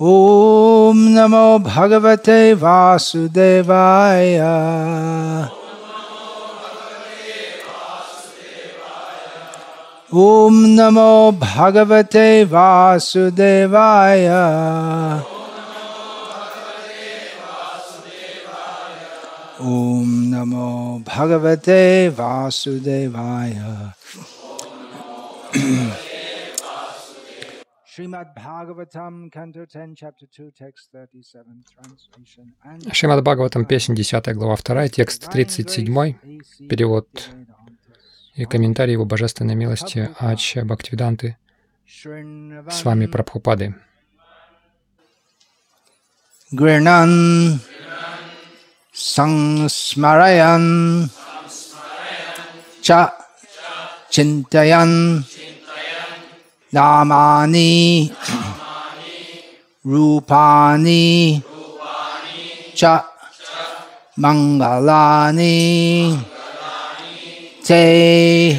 Om Namo Bhagavate Vasudevaya. Om Namo Bhagavate Vasudevaya. Om Namo Bhagavate Vasudevaya. Srimad Bhagavatam, Canto 10, Chapter 2, Text 37, Translation. Шримад Бхагаватам, песнь 10, глава 2, текст 37, перевод и комментарий его божественной милости Ача Бхактивиданты с вами Прабхупады. Гринан Сангсмараян Ча Чинтаян Намани Рупани Ча Мангалани Te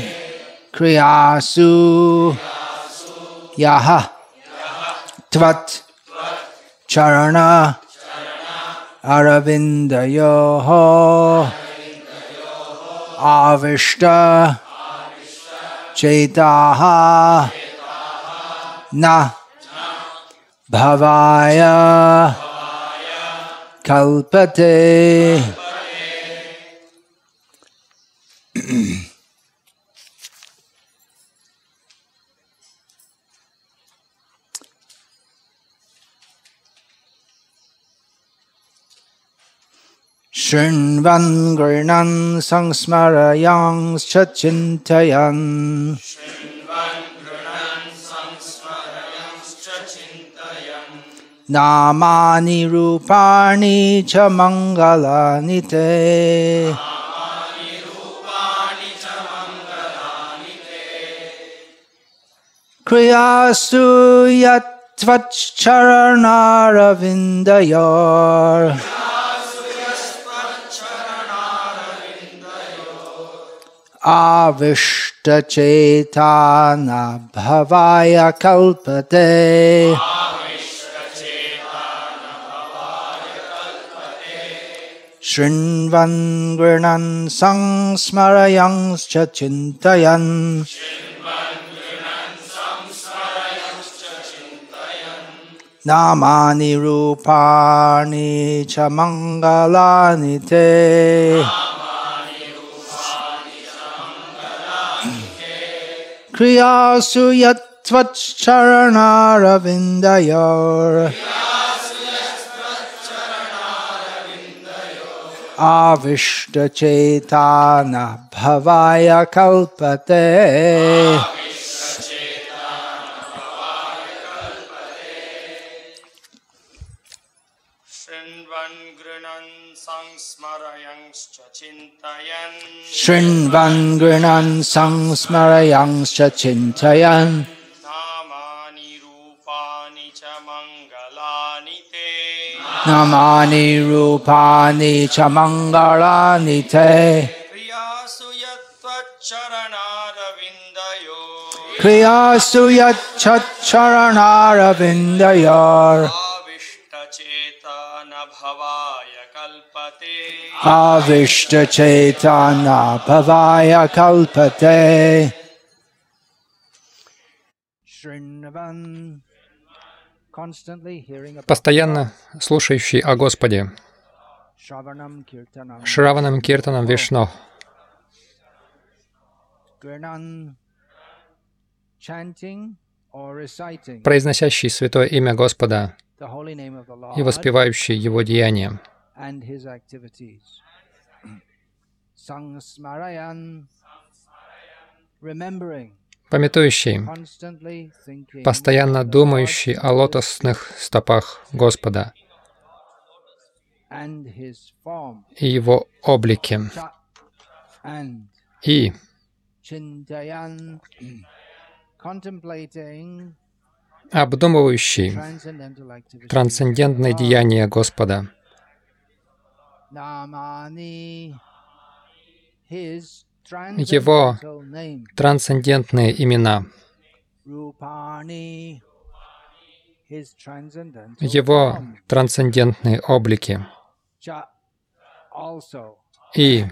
Kriyasu Yaha Tvat Charana Aravindayoho Avishta Chetaha Na Bhavaya Kalpate. Shrinvan Grinan Sangsmarayan Chachintayan Namani Rupani Cha Mangalani Te Kriyasu Yatvacharanaravindayar Avishta Chetana Bhavaya Kalpate. Shrinvan Grinan Sangsmarayan Chachintayan Namani Rupani Cha Mangalani Te Kriyasu Yatvacharanaravindayar Avishta Chetana Bhavaya Kalpate. Shrinvan Grinan Sangsmarayangscha Chintayan Namani Rupani Cha Mangalani Te Kriyasu Yatchacharanaravindayor Avishta Chetana Bhavaya Kalpate. Постоянно слушающий о Господе, Шраванам Киртанам Вишну, произносящий святое имя Господа и воспевающий Его деяния, памятующий, постоянно думающий о лотосных стопах Господа и Его облике, и обдумывающий трансцендентные деяния Господа, Его трансцендентные имена, Его трансцендентные облики и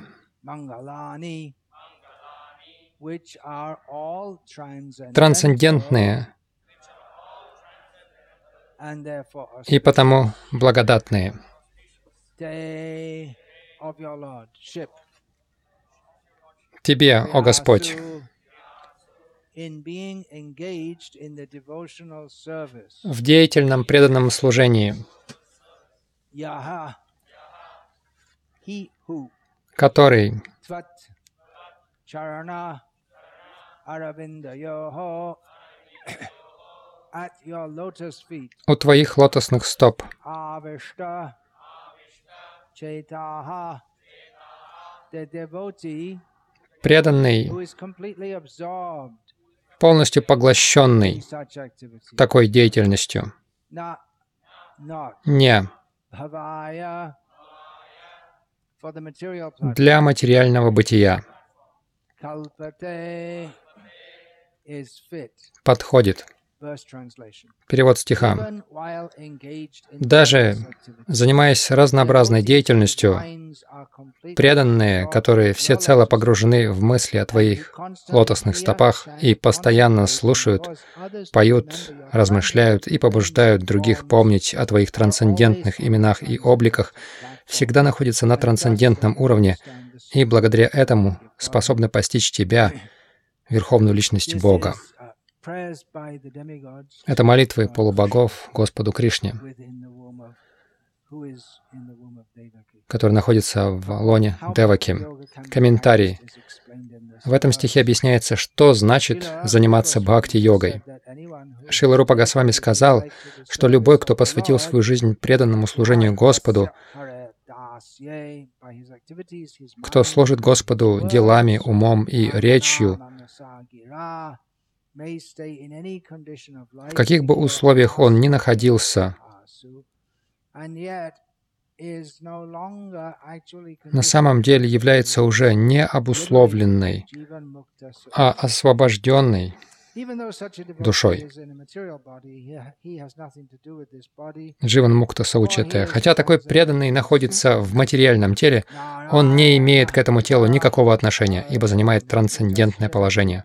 трансцендентные и потому благодатные. Тебе, о Господь, в деятельном преданном служении, который у Твоих лотосных стоп преданный, полностью поглощенный такой деятельностью, не для материального бытия, подходит. Перевод стиха. Даже занимаясь разнообразной деятельностью, преданные, которые всецело погружены в мысли о Твоих лотосных стопах и постоянно слушают, поют, размышляют и побуждают других помнить о Твоих трансцендентных именах и обликах, всегда находятся на трансцендентном уровне и благодаря этому способны постичь Тебя, Верховную Личность Бога. Это молитвы полубогов Господу Кришне, который находится в лоне Деваки. Комментарий. В этом стихе объясняется, что значит заниматься бхакти-йогой. Шрила Рупа Госвами сказал, что любой, кто посвятил свою жизнь преданному служению Господу, кто служит Господу делами, умом и речью, в каких бы условиях он ни находился, на самом деле является уже не обусловленной, а освобожденной душой. Дживан Мукта Саучате. Хотя такой преданный находится в материальном теле, он не имеет к этому телу никакого отношения, ибо занимает трансцендентное положение.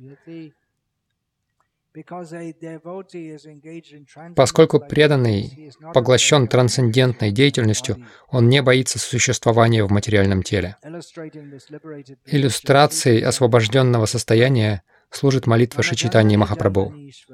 Поскольку преданный поглощен трансцендентной деятельностью, он не боится существования в материальном теле. Иллюстрацией освобожденного состояния служит молитва Шри Чайтаньи Махапрабху.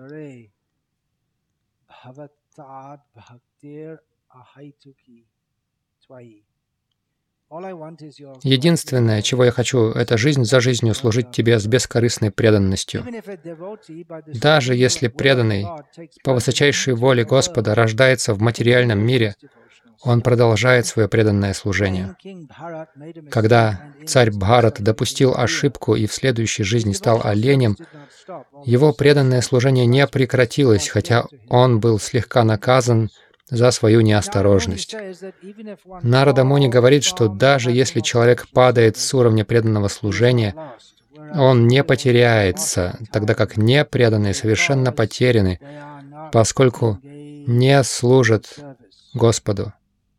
Единственное, чего я хочу, это жизнь за жизнью служить Тебе с бескорыстной преданностью. Даже если преданный по высочайшей воле Господа рождается в материальном мире, он продолжает свое преданное служение. Когда царь Бхарат допустил ошибку и в следующей жизни стал оленем, его преданное служение не прекратилось, хотя он был слегка наказан за свою неосторожность. Нарада Муни говорит, что даже если человек падает с уровня преданного служения, он не потеряется, тогда как непреданные совершенно потеряны, поскольку не служат Господу.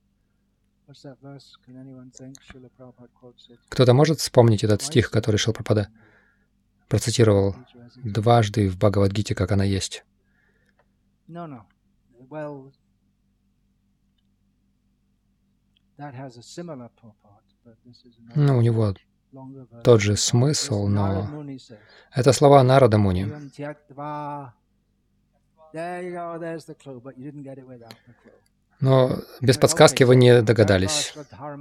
Кто-то может вспомнить этот стих, который Шрила Прабхупада процитировал дважды в Бхагавад-гите, как она есть? Ну, у него тот же смысл, но это слова Нарада Муни. Но без подсказки вы не догадались.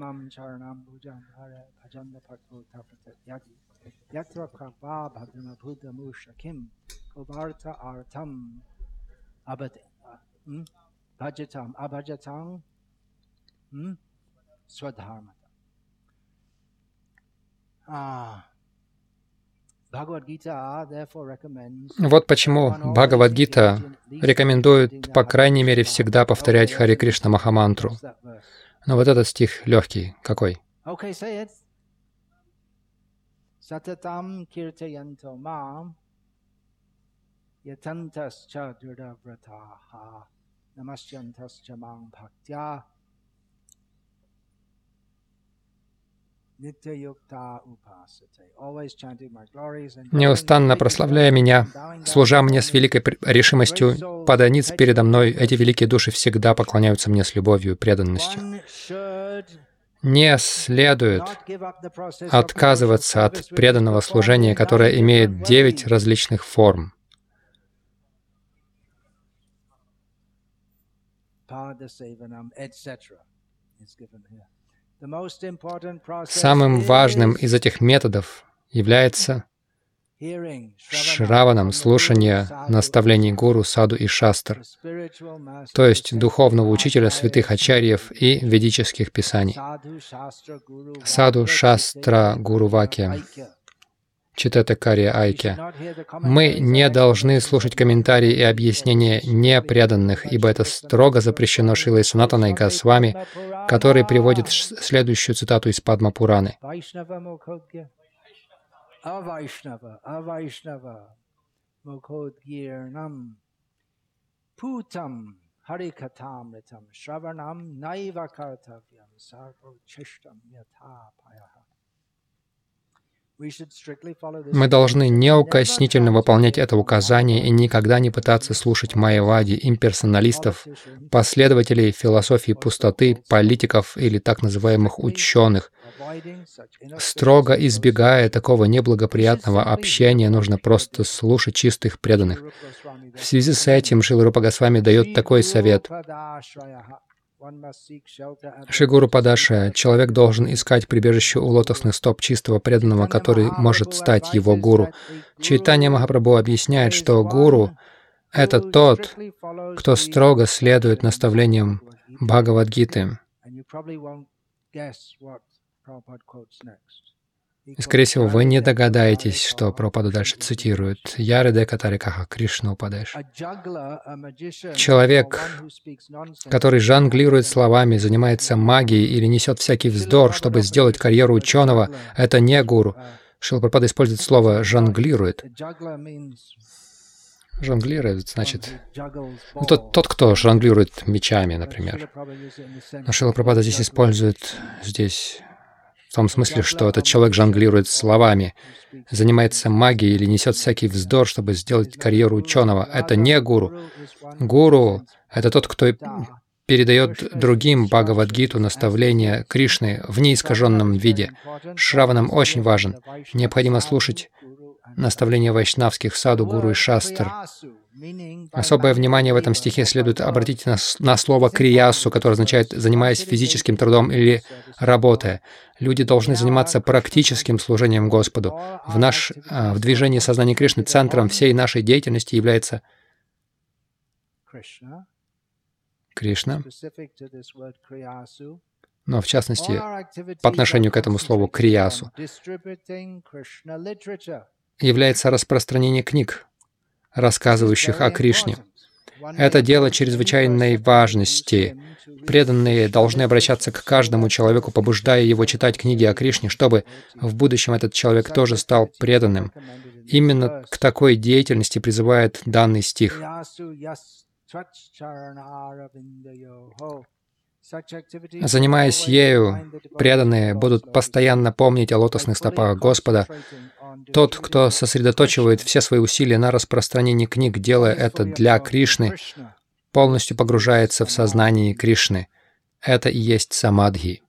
Вот почему Бхагавад-гита рекомендует, по крайней мере, всегда повторять Харе Кришна Махамантру. Но вот этот стих легкий. Какой? Сататам киртаянто мам ятантасча дурдавратаха Namashyantascha mang bhaktya nitya yukta upasate. Always chanting my glories and Неустанно прославляя меня, служа мне с великой решимостью, падая ниц передо мной, эти великие души всегда поклоняются мне с любовью и преданностью. Не следует отказываться от преданного служения, которое имеет 9 различных форм. Самым важным из этих методов является шраванам, слушание наставлений гуру, саду и шастр, то есть духовного учителя, святых ачарьев и ведических писаний. Саду, шастра, гуру вакья, читата карья айкья. Мы не должны слушать комментарии и объяснения непреданных, ибо это строго запрещено Шрилой Санатаной Госвами, который приводит следующую цитату из Падма Пураны. Avaishnava Mukhodgirnam Putam Harikatamritam Shravanam Naiva Kartavyam Sarvo Chishtam Yathapayaha. Мы должны неукоснительно выполнять это указание и никогда не пытаться слушать майявади, имперсоналистов, последователей философии пустоты, политиков или так называемых ученых. Строго избегая такого неблагоприятного общения, нужно просто слушать чистых преданных. В связи с этим Шрила Рупа Госвами дает такой совет. Шри Гуру Падашая, человек должен искать прибежище у лотосных стоп чистого преданного, который может стать его гуру. Чайтанья Махапрабху объясняет, что гуру — это тот, кто строго следует наставлениям Бхагавад-гиты. И, скорее всего, вы не догадаетесь, что Прабхупада дальше цитирует. «Яриде катарикаха Кришна упадеш». Человек, который жонглирует словами, занимается магией или несет всякий вздор, чтобы сделать карьеру ученого, это не гуру. Шрила Прабхупада использует слово «жонглирует». Жонглирует, значит, тот, кто жонглирует мечами, например. Но Шрила Прабхупада здесь использует в том смысле, что этот человек жонглирует словами, занимается магией или несет всякий вздор, чтобы сделать карьеру ученого. Это не гуру. Гуру — это тот, кто передает другим Бхагавад-гиту, наставления Кришны в неискаженном виде. Шраванам очень важен. Необходимо слушать наставления вайшнавских саду, гуру и шастр. Особое внимание в этом стихе следует обратить на слово «криясу», которое означает «занимаясь физическим трудом» или «работая». Люди должны заниматься практическим служением Господу. В движении сознания Кришны центром всей нашей деятельности является Кришна. Но в частности, по отношению к этому слову «криясу» является распространение книг, рассказывающих о Кришне. Это дело чрезвычайной важности. Преданные должны обращаться к каждому человеку, побуждая его читать книги о Кришне, чтобы в будущем этот человек тоже стал преданным. Именно к такой деятельности призывает данный стих. Занимаясь ею, преданные будут постоянно помнить о лотосных стопах Господа. Тот, кто сосредоточивает все свои усилия на распространении книг, делая это для Кришны, полностью погружается в сознание Кришны. Это и есть самадхи.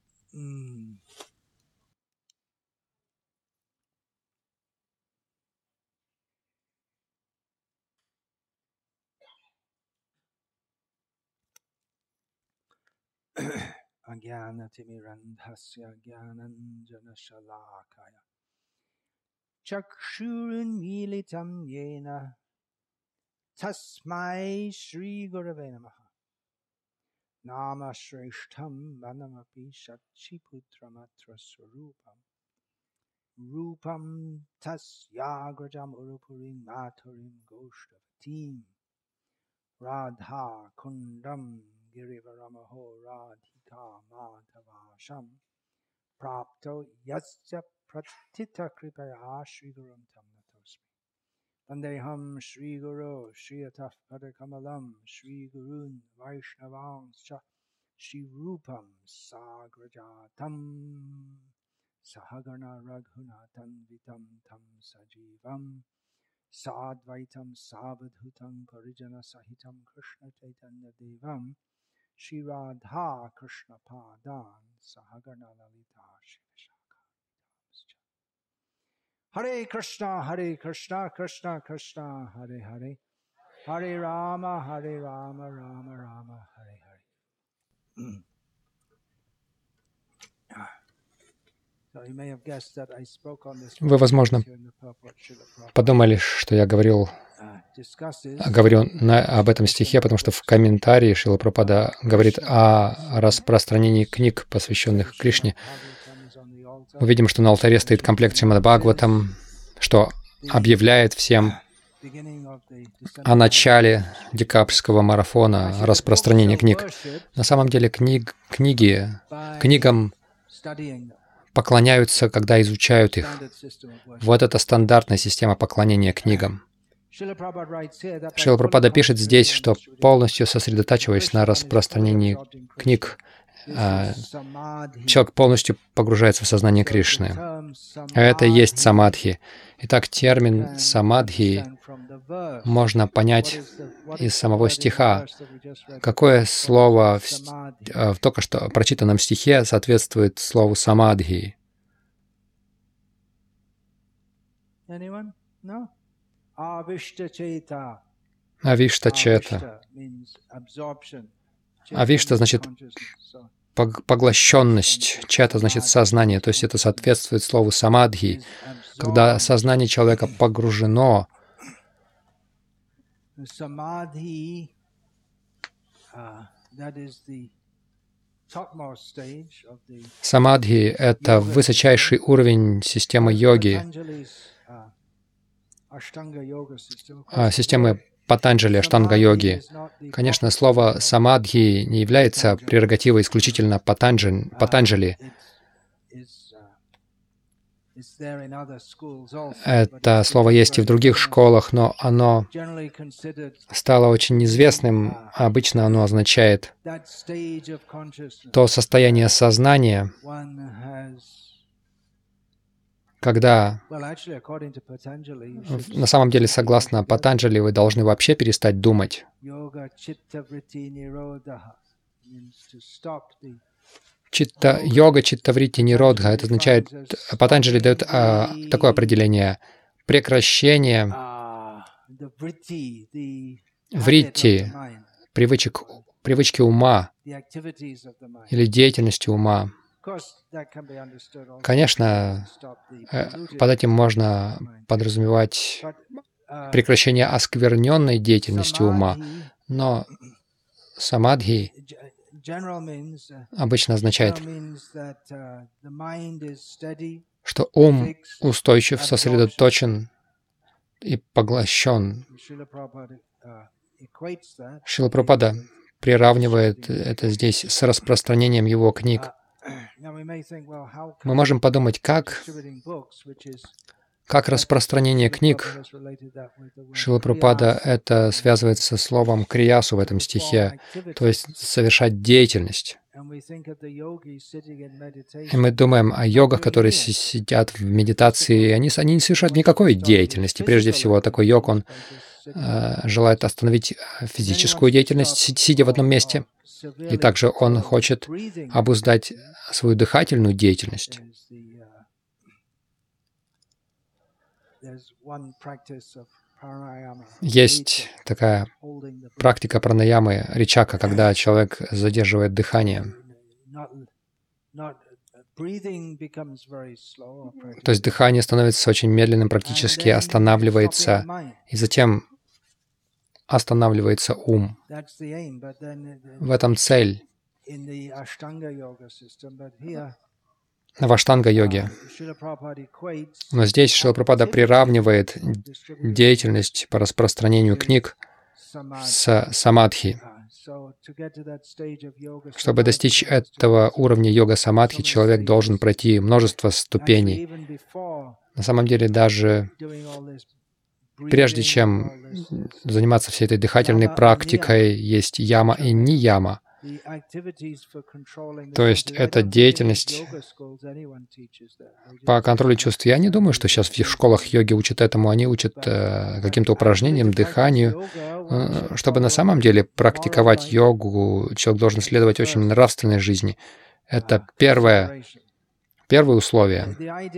Chakshurunmilitam yena tasmai Shri Gurave namaha nama shreshtham manamapi shachiputramatra swarupam rupam tasyagrajam urupurim mathurim goshtavatim radha kundam girivaramaho radhika madhavasham prapto yasya pratita kripaya Shri Gurum tam natosmi. Vandeham Shri Guru Shri Ataf Padakamalam Shri Gurun Vaishnavangscha Shri Rupam Sagrajatam Sahagana Raghunatam Vitam Tam Sajivam Sadvaitam Savadhutam Parijana Sahitam Krishna Chaitanya Devam Shri Radha Krishna Padan Sahagana Lalita Shri Hare Krishna, Krishna Krishna, Hare Hare, Hare Rama, Rama Rama, Hare Hare. Вы, возможно, подумали, что я говорю об этом стихе, потому что в комментарии Шрила Прабхупада говорит о распространении книг, посвященных Кришне. Мы видим, что на алтаре стоит комплект Шримад Бхагаватам, что объявляет всем о начале декабрьского марафона распространения книг. На самом деле книгам поклоняются, когда изучают их. Вот это стандартная система поклонения книгам. Шрила Прабхупада пишет здесь, что полностью сосредотачиваясь на распространении книг, человек полностью погружается в сознание Кришны. Это и есть самадхи. Итак, термин самадхи можно понять из самого стиха. Какое слово в только что прочитанном стихе соответствует слову самадхи? Авиштачета. Авишта значит поглощенность, чета значит сознание, то есть это соответствует слову самадхи, когда сознание человека погружено. Самадхи — это высочайший уровень системы йоги, системы Патанджали, Аштанга-йоги. Конечно, слово «самадхи» не является прерогативой исключительно Патанджали. Это слово есть и в других школах, но оно стало очень известным. Обычно оно означает то состояние сознания, когда, на самом деле, согласно Патанджали, вы должны вообще перестать думать. Йога, читта, вритти, ниродха. Это означает, Патанджали дает такое определение: прекращение вритти, привычки ума или деятельности ума. Конечно, под этим можно подразумевать прекращение оскверненной деятельности ума, но самадхи обычно означает, что ум устойчив, сосредоточен и поглощен. Шрила Прабхупада приравнивает это здесь с распространением его книг. Мы можем подумать, как распространение книг, Шрила Прабхупада это связывает со словом криясу в этом стихе, то есть совершать деятельность. И мы думаем о йогах, которые сидят в медитации, они не совершают никакой деятельности. Прежде всего, такой йог, он желает остановить физическую деятельность, сидя в одном месте. И также он хочет обуздать свою дыхательную деятельность. Есть такая практика пранаямы, ричака, когда человек задерживает дыхание. То есть дыхание становится очень медленным, практически останавливается, и затем останавливается ум. В этом цель в аштанга-йоге. Но здесь Шрила Прабхупада приравнивает деятельность по распространению книг с самадхи. Чтобы достичь этого уровня йога-самадхи, человек должен пройти множество ступеней. На самом деле, даже прежде чем заниматься всей этой дыхательной практикой, есть яма и нияма. То есть это деятельность по контролю чувств. Я не думаю, что сейчас в школах йоги учат этому. Они учат каким-то упражнениям, дыханию. Чтобы на самом деле практиковать йогу, человек должен следовать очень нравственной жизни. Это первое условие.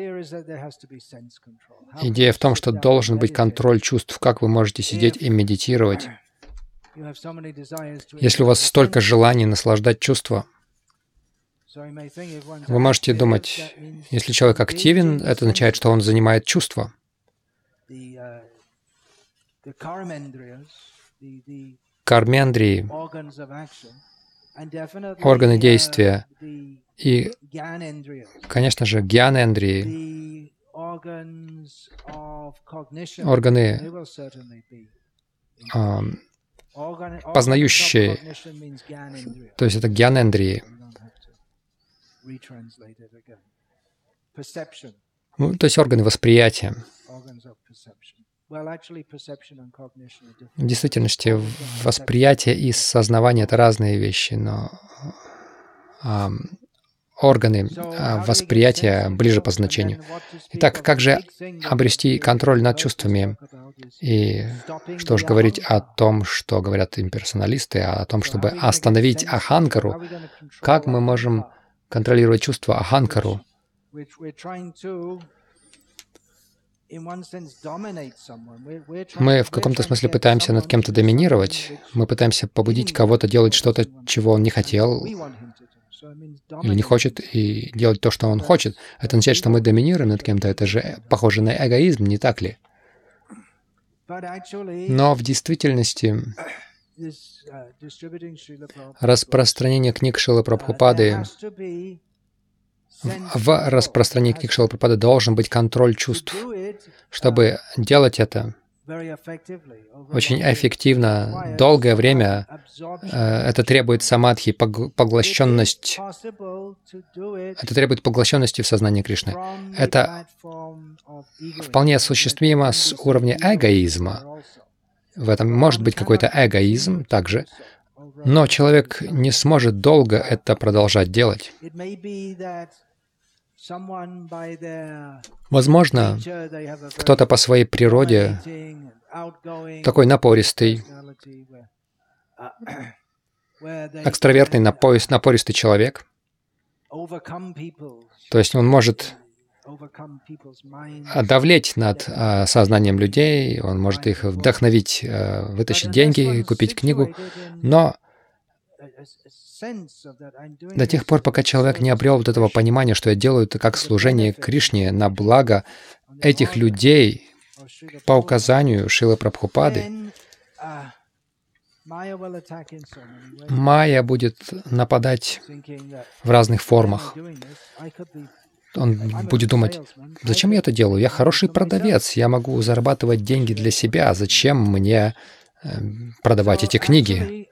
Идея в том, что должен быть контроль чувств. Как вы можете сидеть и медитировать? Если у вас столько желаний наслаждать чувства, вы можете думать, если человек активен, это означает, что он занимает чувства. Кармендрии, органы действия и, конечно же, гьянендрии, органы познающие, то есть это гьянендрии. Ну, то есть органы восприятия. В действительности восприятие и сознание — это разные вещи, но органы восприятия ближе по значению. Итак, как же обрести контроль над чувствами? И что же говорить о том, что говорят имперсоналисты, о том, чтобы остановить аханкару? Как мы можем контролировать чувства аханкару? Мы в каком-то смысле пытаемся над кем-то доминировать. Мы пытаемся побудить кого-то делать что-то, чего он не хотел или не хочет, и делать то, что он хочет. Это означает, что мы доминируем над кем-то. Это же похоже на эгоизм, не так ли? Но в действительности распространение книг Шрилы Прабхупады, в распространении книг Шрилы Прабхупады должен быть контроль чувств. Чтобы делать это очень эффективно, долгое время, это требует самадхи, поглощенность. Это требует поглощенности в сознании Кришны. Это вполне осуществимо с уровня эгоизма. В этом может быть какой-то эгоизм также, но человек не сможет долго это продолжать делать. Возможно, кто-то по своей природе такой напористый, экстравертный, напористый человек. То есть он может давлеть над сознанием людей, он может их вдохновить, вытащить деньги, купить книгу, но до тех пор, пока человек не обрел вот этого понимания, что я делаю это как служение Кришне на благо этих людей по указанию Шрилы Прабхупады, майя будет нападать в разных формах. Он будет думать, зачем я это делаю? Я хороший продавец, я могу зарабатывать деньги для себя, зачем мне продавать эти книги?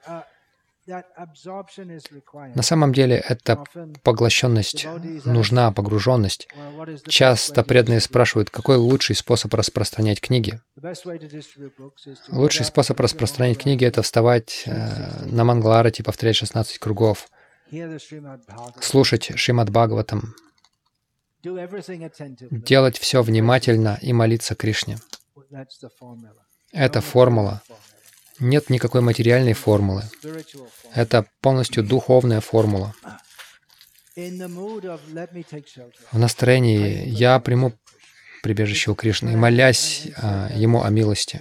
На самом деле, эта поглощенность нужна, погруженность. Часто преданные спрашивают, какой лучший способ распространять книги? Лучший способ распространять книги — это вставать на Мангаларати, повторять 16 кругов, слушать Шримад Бхагаватам, делать все внимательно и молиться Кришне. Это формула. Нет никакой материальной формулы. Это полностью духовная формула. В настроении «я приму прибежище у Кришны», молясь Ему о милости.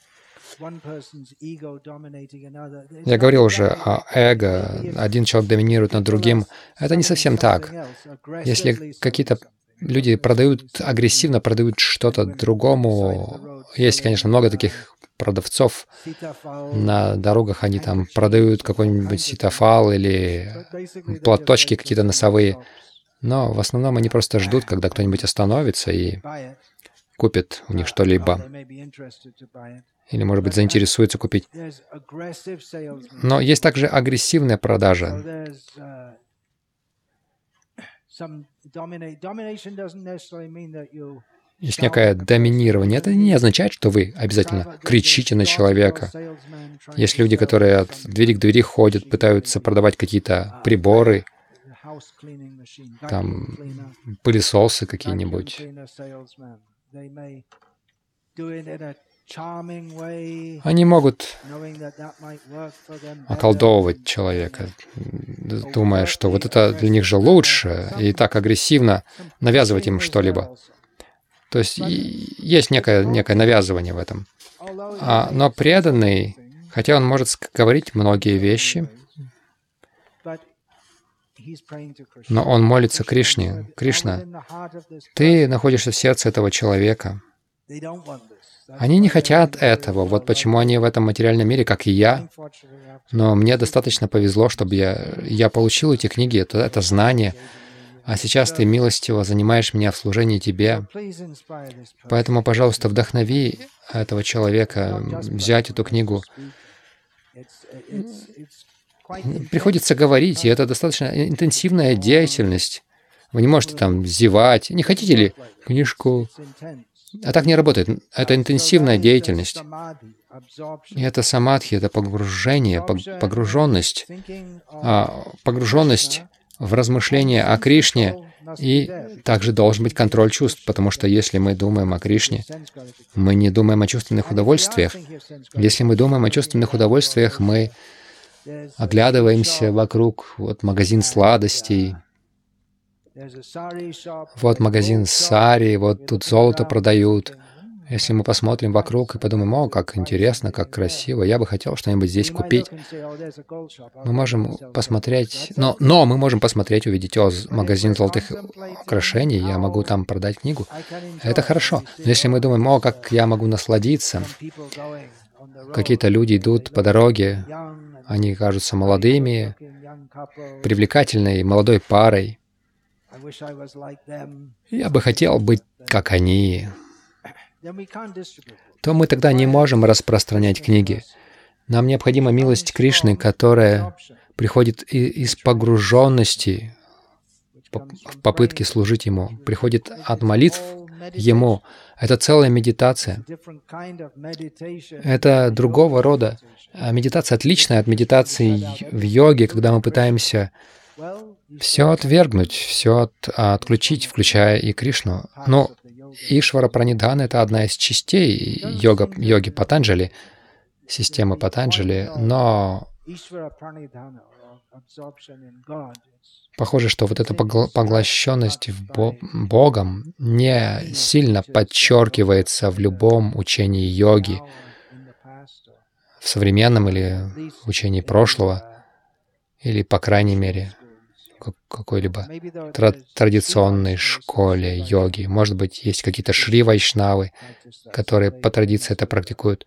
Я говорил уже о эго. Один человек доминирует над другим. Это не совсем так. Если какие-то люди агрессивно продают что-то другому, есть, конечно, много таких продавцов на дорогах, они там продают какой-нибудь ситофал или платочки какие-то носовые, но в основном они просто ждут, когда кто-нибудь остановится и купит у них что-либо. Или, может быть, заинтересуется купить. Но есть также агрессивная продажа. есть некое доминирование. Это не означает, что вы обязательно кричите на человека. Есть люди, которые от двери к двери ходят, пытаются продавать какие-то приборы, там, пылесосы какие-нибудь. Они могут околдовывать человека, думая, что вот это для них же лучше, и так агрессивно навязывать им что-либо. То есть есть некое навязывание в этом. Но преданный, хотя он может говорить многие вещи, но он молится Кришне. Кришна, ты находишься в сердце этого человека. Они не хотят этого. Вот почему они в этом материальном мире, как и я. Но мне достаточно повезло, чтобы я получил эти книги, это знание. А сейчас ты милостиво занимаешь меня в служении тебе. Поэтому, пожалуйста, вдохнови этого человека взять эту книгу. Приходится говорить, и это достаточно интенсивная деятельность. Вы не можете там зевать. Не хотите ли книжку? А так не работает. Это интенсивная деятельность. И это самадхи, это погружение, погруженность. Погруженность в размышления о Кришне, и также должен быть контроль чувств, потому что если мы думаем о Кришне, мы не думаем о чувственных удовольствиях. Если мы думаем о чувственных удовольствиях, мы оглядываемся вокруг, вот магазин сладостей, вот магазин сари, вот тут золото продают. Если мы посмотрим вокруг и подумаем, о, как интересно, как красиво, я бы хотел что-нибудь здесь купить. Мы можем посмотреть, но мы можем посмотреть, увидеть, о, магазин золотых украшений, я могу там продать книгу. Это хорошо. Но если мы думаем, о, как я могу насладиться, какие-то люди идут по дороге, они кажутся молодыми, привлекательной молодой парой. Я бы хотел быть как они. То мы тогда не можем распространять книги. Нам необходима милость Кришны, которая приходит из погруженности в попытке служить Ему, приходит от молитв Ему. Это целая медитация. Это другого рода. Медитация отличная от медитации в йоге, когда мы пытаемся все отвергнуть, все отключить, включая и Кришну. Но Ишвара Пранидхана — это одна из частей йоги Патанджали, системы Патанджали, но похоже, что вот эта поглощенность Богом не сильно подчеркивается в любом учении йоги, в современном или в учении прошлого, или, по крайней мере, какой-либо традиционной школе йоги. Может быть, есть какие-то шри-вайшнавы, которые по традиции это практикуют.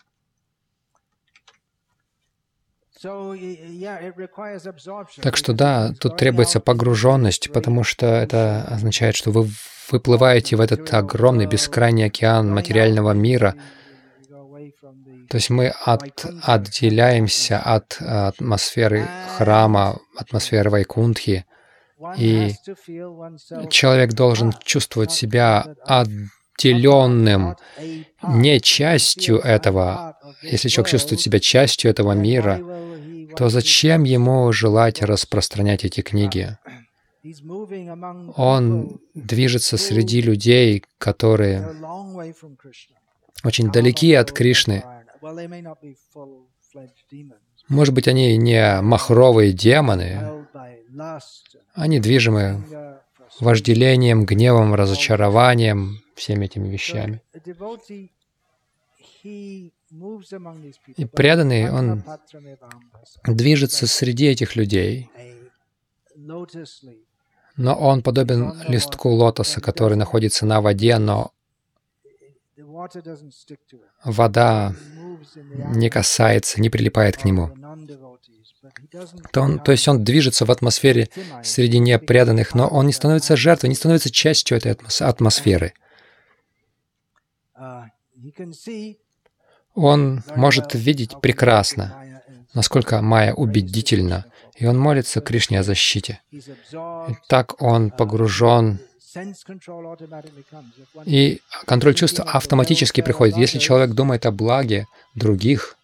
Так что да, тут требуется погруженность, потому что это означает, что вы выплываете в этот огромный бескрайний океан материального мира. То есть мы отделяемся от атмосферы храма, атмосферы Вайкунтхи, и человек должен чувствовать себя отделенным, не частью этого. Если человек чувствует себя частью этого мира, то зачем ему желать распространять эти книги? Он движется среди людей, которые очень далеки от Кришны. Может быть, они не махровые демоны, они движимы вожделением, гневом, разочарованием, всеми этими вещами. И преданный, он движется среди этих людей, но он подобен листку лотоса, который находится на воде, но вода не касается, не прилипает к нему. То есть он движется в атмосфере среди непреданных, но он не становится жертвой, не становится частью этой атмосферы. Он может видеть прекрасно, насколько майя убедительна, и он молится Кришне о защите. И так он погружен И контроль чувств автоматически приходит. Если человек думает о благе других,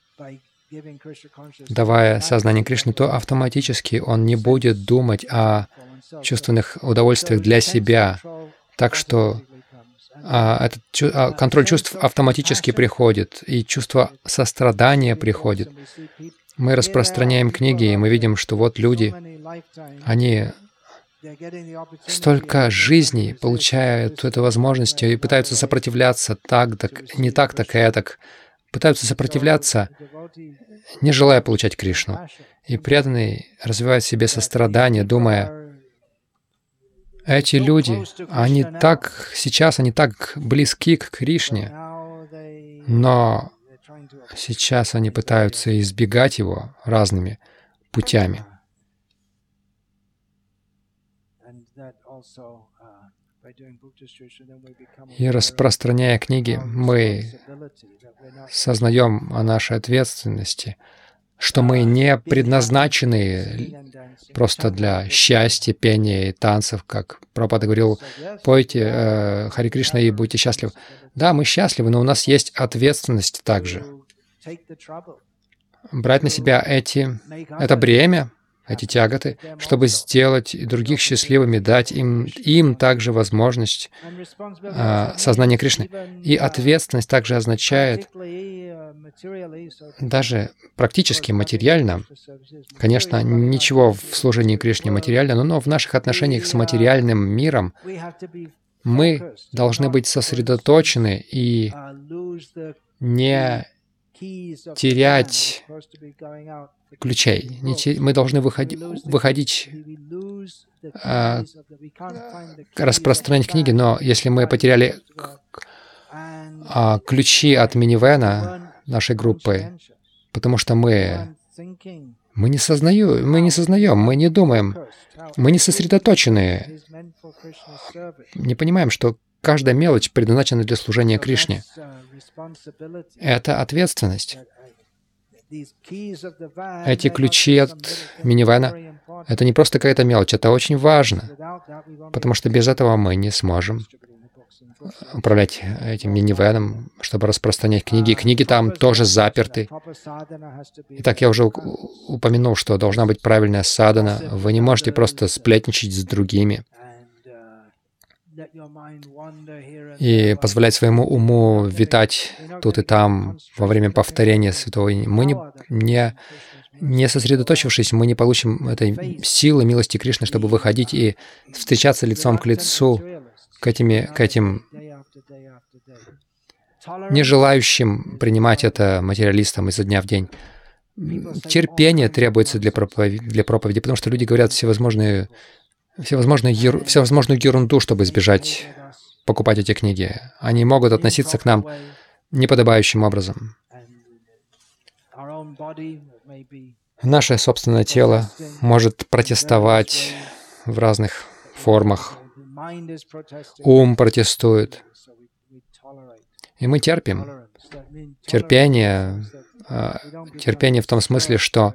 давая сознание Кришны, то автоматически он не будет думать о чувственных удовольствиях для себя. Так что контроль чувств автоматически приходит, и чувство сострадания приходит. Мы распространяем книги, и мы видим, что вот люди, они столько жизней получают эту возможность и пытаются сопротивляться так не так, так этак. Пытаются сопротивляться, не желая получать Кришну. И преданный развивает в себе сострадание, думая, эти люди, они так близки к Кришне, но сейчас они пытаются избегать его разными путями. И распространяя книги, мы сознаем о нашей ответственности, что мы не предназначены просто для счастья, пения и танцев, как Прабхупада говорил, пойте Харе Кришна и будьте счастливы. Да, мы счастливы, но у нас есть ответственность также. Брать на себя это бремя, эти тяготы, чтобы сделать других счастливыми, дать им также возможность сознания Кришны. И ответственность также означает даже практически материально, конечно, ничего в служении Кришне материально, но в наших отношениях с материальным миром мы должны быть сосредоточены и не терять ключей. Мы должны выходить, распространять книги, но если мы потеряли ключи от минивэна нашей группы, потому что мы не сознаем, мы не думаем, мы не сосредоточены, не понимаем, что каждая мелочь предназначена для служения Кришне. Это ответственность. Эти ключи от минивэна — это не просто какая-то мелочь, это очень важно, потому что без этого мы не сможем управлять этим минивэном, чтобы распространять книги. Книги там тоже заперты. Итак, я уже упомянул, что должна быть правильная садхана. Вы не можете просто сплетничать с другими и позволять своему уму витать тут и там во время повторения святого имени. Мы не сосредоточившись, мы не получим этой силы, милости Кришны, чтобы выходить и встречаться лицом к лицу к этим не желающим принимать это материалистам изо дня в день. Терпение требуется для проповеди, потому что люди говорят всевозможную ерунду, чтобы избежать покупать эти книги. Они могут относиться к нам неподобающим образом. Наше собственное тело может протестовать в разных формах. Ум протестует. И мы терпим. Терпение в том смысле, что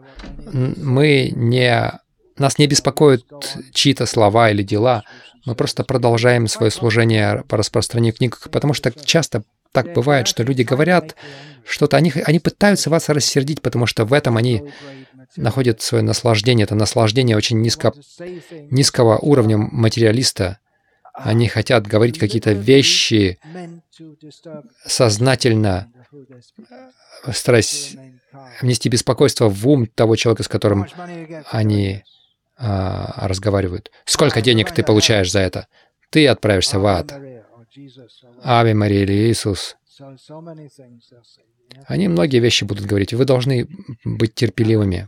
нас не беспокоят чьи-то слова или дела. Мы просто продолжаем свое служение по распространению книг, потому что часто так бывает, что люди говорят что-то, они пытаются вас рассердить, потому что в этом они находят свое наслаждение. Это наслаждение очень низкого уровня материалиста. Они хотят говорить какие-то вещи сознательно, стараясь внести беспокойство в ум того человека, с которым они разговаривают. Сколько денег ты получаешь за это? Ты отправишься в ад. Аве Мария или Иисус. Они многие вещи будут говорить. Вы должны быть терпеливыми.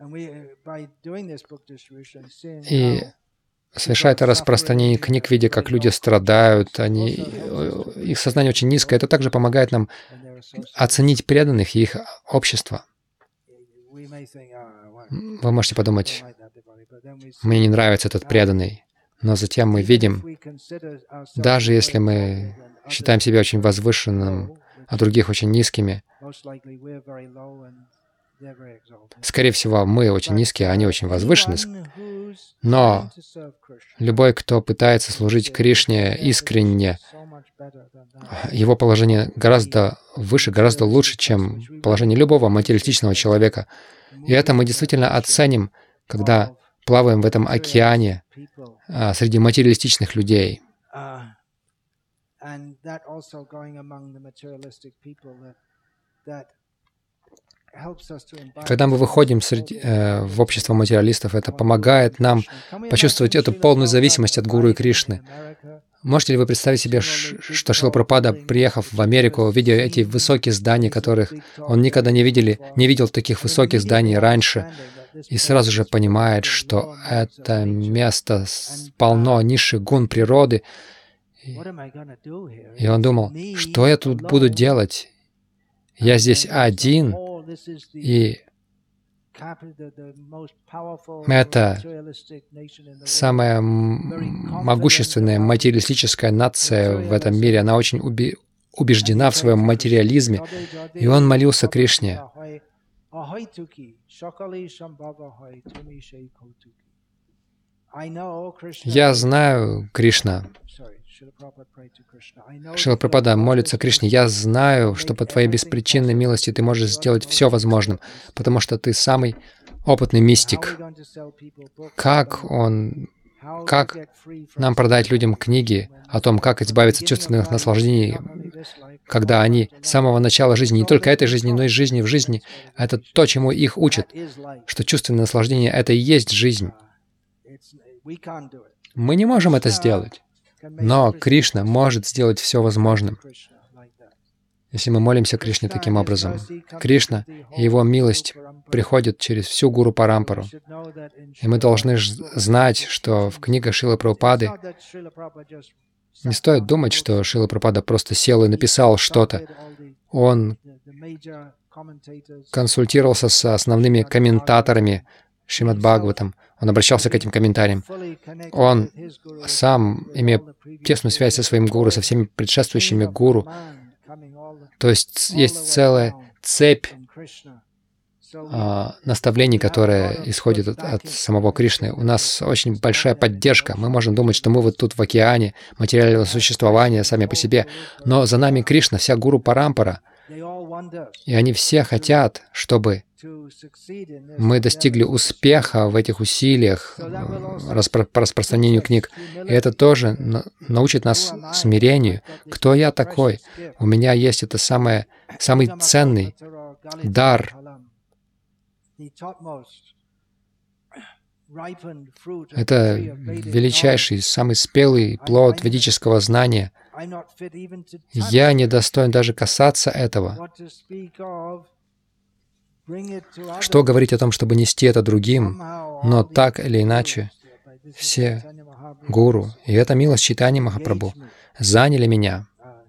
И совершая это распространение книг, видя, как люди страдают, их сознание очень низкое, это также помогает нам оценить преданных и их общество. Вы можете подумать, мне не нравится этот преданный, но затем мы видим, даже если мы считаем себя очень возвышенным, а других очень низкими, скорее всего, мы очень низкие, а они очень возвышены. Но любой, кто пытается служить Кришне искренне, его положение гораздо выше, гораздо лучше, чем положение любого материалистичного человека. И это мы действительно оценим, когда плаваем в этом океане среди материалистичных людей. Когда мы выходим в общество материалистов, это помогает нам почувствовать эту полную зависимость от Гуру и Кришны. Можете ли вы представить себе, что Шрила Прабхупада, приехав в Америку, видя эти высокие здания, которых он никогда не видел таких высоких зданий раньше, и сразу же понимает, что это место полно низших гун природы, и он думал, что я тут буду делать? Я здесь один, и это самая могущественная материалистическая нация в этом мире. Она очень убеждена в своем материализме. И он молился Кришне. Я знаю, Кришна. Шрила Прабхупада молится Кришне. Я знаю, что по Твоей беспричинной милости Ты можешь сделать все возможным, потому что Ты самый опытный мистик. Как нам продать людям книги о том, как избавиться от чувственных наслаждений, когда они с самого начала жизни, не только этой жизни, но и жизни в жизни, это то, чему их учат, что чувственное наслаждение — это и есть жизнь. Мы не можем это сделать. Но Кришна может сделать все возможным, если мы молимся Кришне таким образом. Кришна и Его милость приходят через всю Гуру Парампару. И мы должны знать, что в книгах Шрилы Прабхупады не стоит думать, что Шрила Прабхупада просто сел и написал что-то. Он консультировался с основными комментаторами Шримад Бхагаватам. Он обращался к этим комментариям. Он сам, имея тесную связь со своим гуру, со всеми предшествующими гуру, то есть есть целая цепь наставлений, которые исходят от самого Кришны. У нас очень большая поддержка. Мы можем думать, что мы вот тут в океане материального существования сами по себе, но за нами Кришна, вся Гуру Парампара, и они все хотят, чтобы мы достигли успеха в этих усилиях по распространению книг. И это тоже научит нас смирению. Кто я такой? У меня есть это самый ценный дар. Это величайший, самый спелый плод ведического знания. Я не достоин даже касаться этого. Что говорить о том, чтобы нести это другим, но так или иначе все гуру, и эта милость Чайтаньи Махапрабху, заняли меня.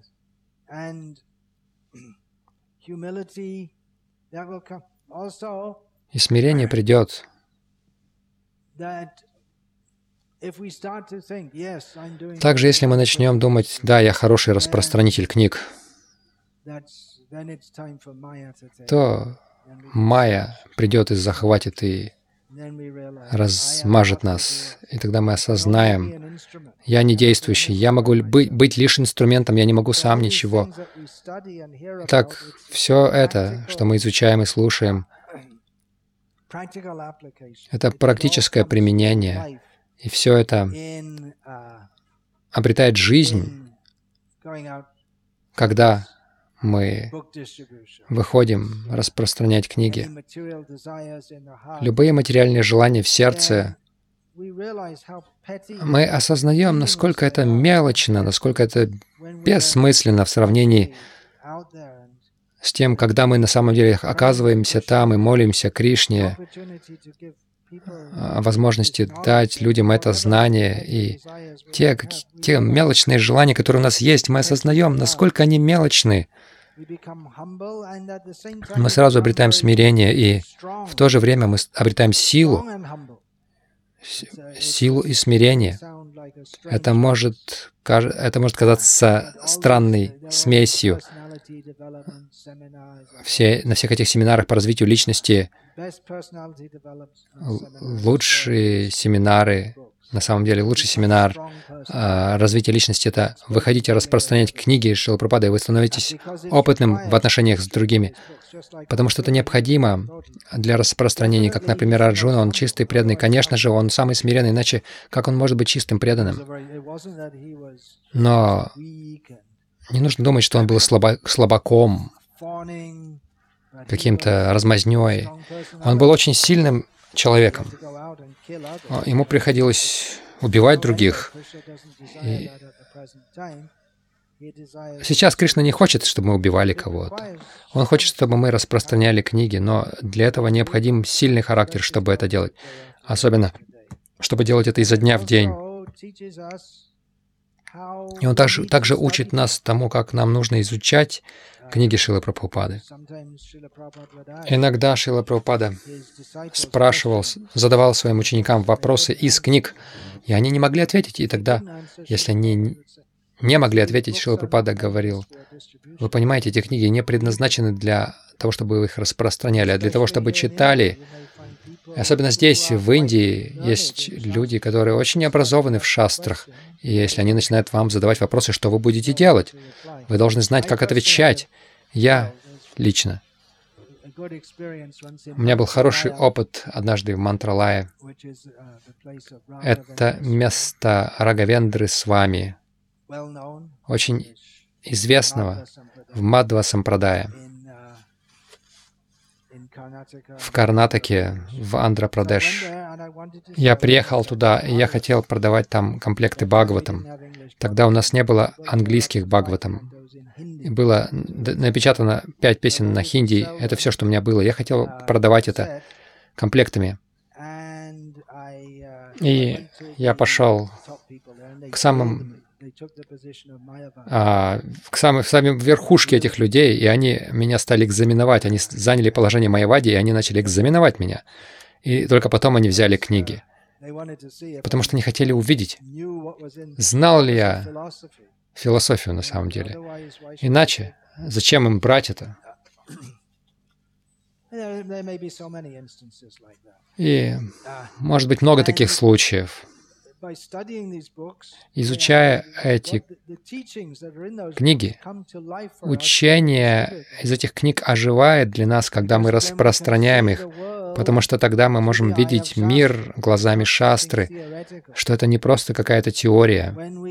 И смирение придет. Также, если мы начнем думать, да, я хороший распространитель книг, то Майя придет и захватит и размажет нас. И тогда мы осознаем, я не действующий, я могу быть лишь инструментом, я не могу сам ничего. Так, все это, что мы изучаем и слушаем, это практическое применение. И все это обретает жизнь, когда мы выходим распространять книги. Любые материальные желания в сердце, мы осознаем, насколько это мелочно, насколько это бессмысленно в сравнении с тем, когда мы на самом деле оказываемся там и молимся Кришне о возможности дать людям это знание. И те мелочные желания, которые у нас есть, мы осознаем, насколько они мелочны. Мы сразу обретаем смирение, и в то же время мы обретаем силу и смирение. Это может казаться странной смесью. На всех этих семинарах по развитию личности лучшие семинары, на самом деле лучший семинар развития личности — это выходить и распространять книги Шрилы Прабхупады, и вы становитесь опытным в отношениях с другими. Потому что это необходимо для распространения. Как, например, Арджуна, он чистый, преданный. Конечно же, он самый смиренный, иначе как он может быть чистым, преданным? Но не нужно думать, что он был слабаком, каким-то размазнёй. Он был очень сильным человеком. Ему приходилось убивать других. И сейчас Кришна не хочет, чтобы мы убивали кого-то. Он хочет, чтобы мы распространяли книги, но для этого необходим сильный характер, чтобы это делать. Особенно, чтобы делать это изо дня в день. И он также учит нас тому, как нам нужно изучать книги Шрилы Прабхупады. Иногда Шрила Прабхупада задавал своим ученикам вопросы из книг, и они не могли ответить. И тогда, если они не могли ответить, Шрила Прабхупада говорил: вы понимаете, эти книги не предназначены для того, чтобы вы их распространяли, а для того, чтобы читали. Особенно здесь, в Индии, есть люди, которые очень образованы в шастрах. И если они начинают вам задавать вопросы, что вы будете делать, вы должны знать, как отвечать. Я лично. У меня был хороший опыт однажды в Мантралае. Это место Рагавендры Свами, очень известного в Мадхва Сампрадае. В Карнатаке, в Андхра-Прадеш. Я приехал туда, и я хотел продавать там комплекты Бхагаватам. Тогда у нас не было английских Бхагаватам. Было напечатано 5 песен на хинди. Это все, что у меня было. Я хотел продавать это комплектами. И я пошел к самым верхушке этих людей, и они меня стали экзаменовать. Они заняли положение Майявади, и они начали экзаменовать меня. И только потом они взяли книги. Потому что они хотели увидеть, знал ли я философию на самом деле. Иначе зачем им брать это? И может быть много таких случаев. Изучая эти книги, учение из этих книг оживает для нас, когда мы распространяем их, потому что тогда мы можем видеть мир глазами шастры, что это не просто какая-то теория.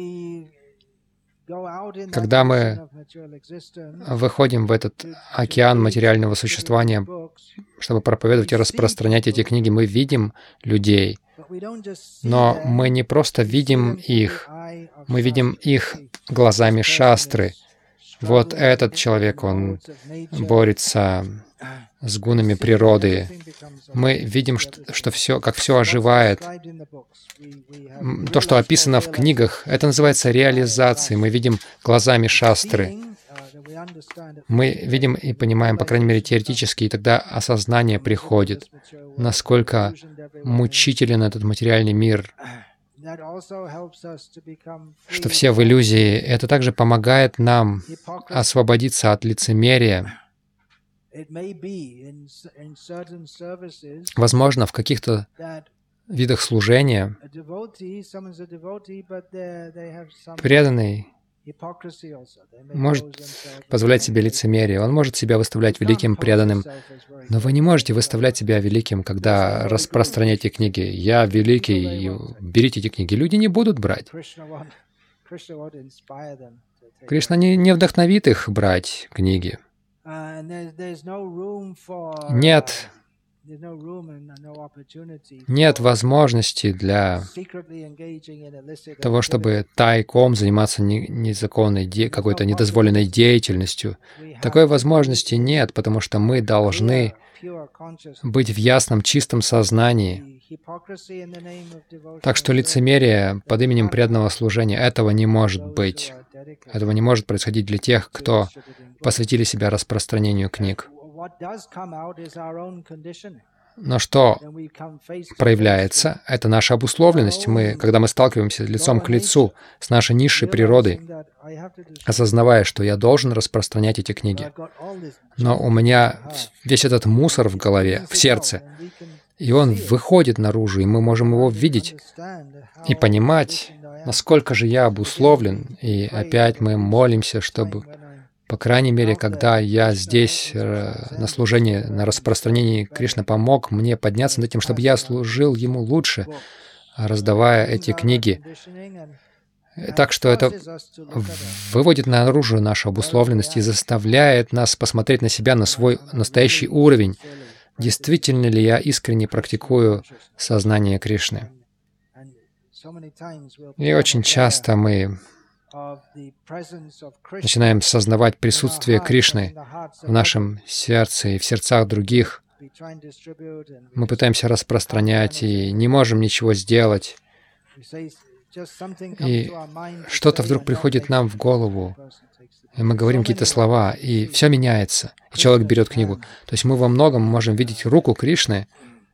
Когда мы выходим в этот океан материального существования, чтобы проповедовать и распространять эти книги, мы видим людей. Но мы не просто видим их, мы видим их глазами шастры. Вот этот человек, он борется с гунами природы. Мы видим, что все, как все оживает. То, что описано в книгах, это называется реализацией. Мы видим глазами шастры. Мы видим и понимаем, по крайней мере, теоретически, и тогда осознание приходит, насколько мучителен этот материальный мир, что все в иллюзии. Это также помогает нам освободиться от лицемерия. Возможно, в каких-то видах служения преданный может позволять себе лицемерие, он может себя выставлять великим преданным, но вы не можете выставлять себя великим, когда распространяете книги. «Я великий, берите эти книги». Люди не будут брать. Кришна не вдохновит их брать книги. Нет возможности для того, чтобы тайком заниматься незаконной, какой-то недозволенной деятельностью. Такой возможности нет, потому что мы должны быть в ясном, чистом сознании. Так что лицемерие под именем преданного служения, этого не может быть. Этого не может происходить для тех, кто посвятили себя распространению книг. Но что проявляется? Это наша обусловленность. Когда мы сталкиваемся лицом к лицу с нашей низшей природой, осознавая, что я должен распространять эти книги, но у меня весь этот мусор в голове, в сердце, и он выходит наружу, и мы можем его видеть и понимать, насколько же я обусловлен. И опять мы молимся, чтобы, по крайней мере, когда я здесь на служении, на распространении, Кришна помог мне подняться над этим, чтобы я служил Ему лучше, раздавая эти книги. Так что это выводит наружу нашу обусловленность и заставляет нас посмотреть на себя, на свой настоящий уровень. Действительно ли я искренне практикую сознание Кришны? И очень часто мы начинаем сознавать присутствие Кришны в нашем сердце и в сердцах других. Мы пытаемся распространять и не можем ничего сделать. И что-то вдруг приходит нам в голову, и мы говорим какие-то слова, и все меняется. И человек берет книгу. То есть мы во многом можем видеть руку Кришны.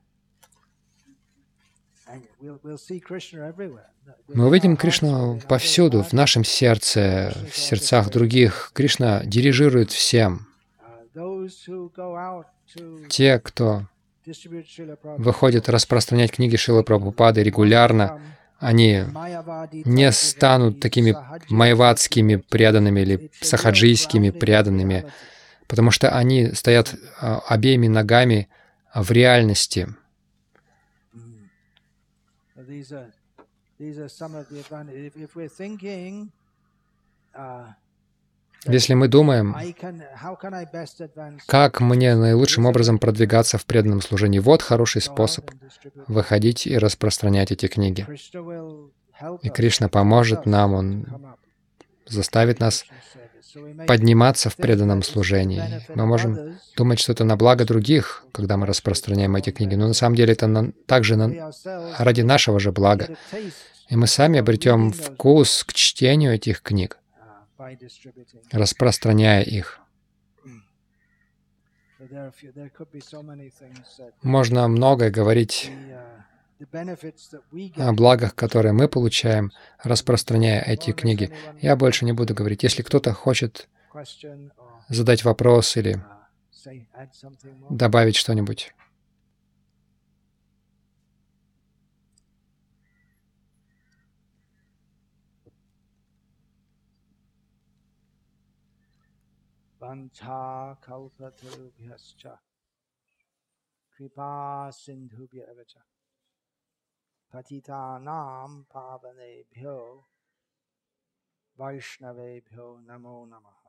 Мы увидим Кришну повсюду, в нашем сердце, в сердцах других. Кришна дирижирует всем. Те, кто выходит распространять книги Шрилы Прабхупады регулярно, они не станут такими майявадскими преданными или сахаджийскими преданными, потому что они стоят обеими ногами в реальности. Если мы думаем, как мне наилучшим образом продвигаться в преданном служении, вот хороший способ выходить и распространять эти книги. И Кришна поможет нам, Он заставит нас подниматься в преданном служении. Мы можем думать, что это на благо других, когда мы распространяем эти книги, но на самом деле это также ради нашего же блага. И мы сами обретем вкус к чтению этих книг, распространяя их. Можно многое говорить о благах, которые мы получаем, распространяя эти книги. Я больше не буду говорить. Если кто-то хочет задать вопрос или добавить что-нибудь. Patitanam pavanebhyo Vaishnavebhyo namo namah.